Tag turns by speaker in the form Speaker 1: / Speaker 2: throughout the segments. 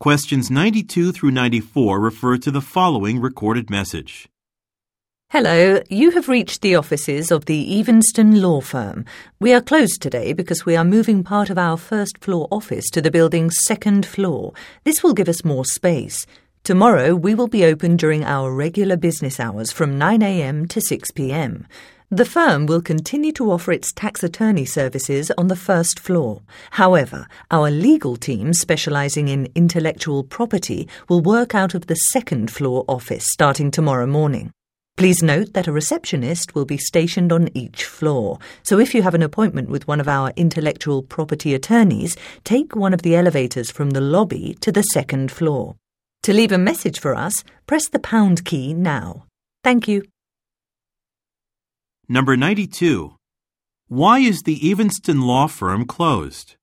Speaker 1: Questions 92 through 94 refer to the following recorded message.
Speaker 2: Hello, you have reached the offices of the Evanston Law Firm. We are closed today because we are moving part of our first-floor office to the building's second floor. This will give us more space. Tomorrow we will be open during our regular business hours from 9 a.m. to 6 p.m. The firm will continue to offer its tax attorney services on the first floor. However, our legal team specializing in intellectual property will work out of the second floor office starting tomorrow morning. Please note that a receptionist will be stationed on each floor, so if you have an appointment with one of our intellectual property attorneys, take one of the elevators from the lobby to the second floor. To leave a message for us, press the pound key now. Thank you.
Speaker 1: Number 92. Why is the Evanston Law Firm closed?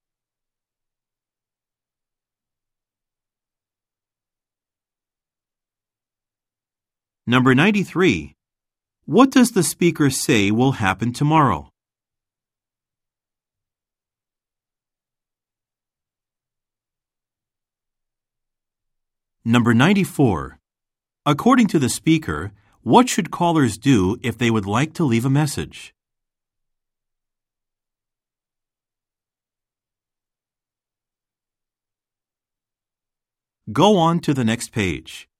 Speaker 1: Number 93. What does the speaker say will happen tomorrow? Number 94. According to the speaker, what should callers do if they would like to leave a message? Go on to the next page.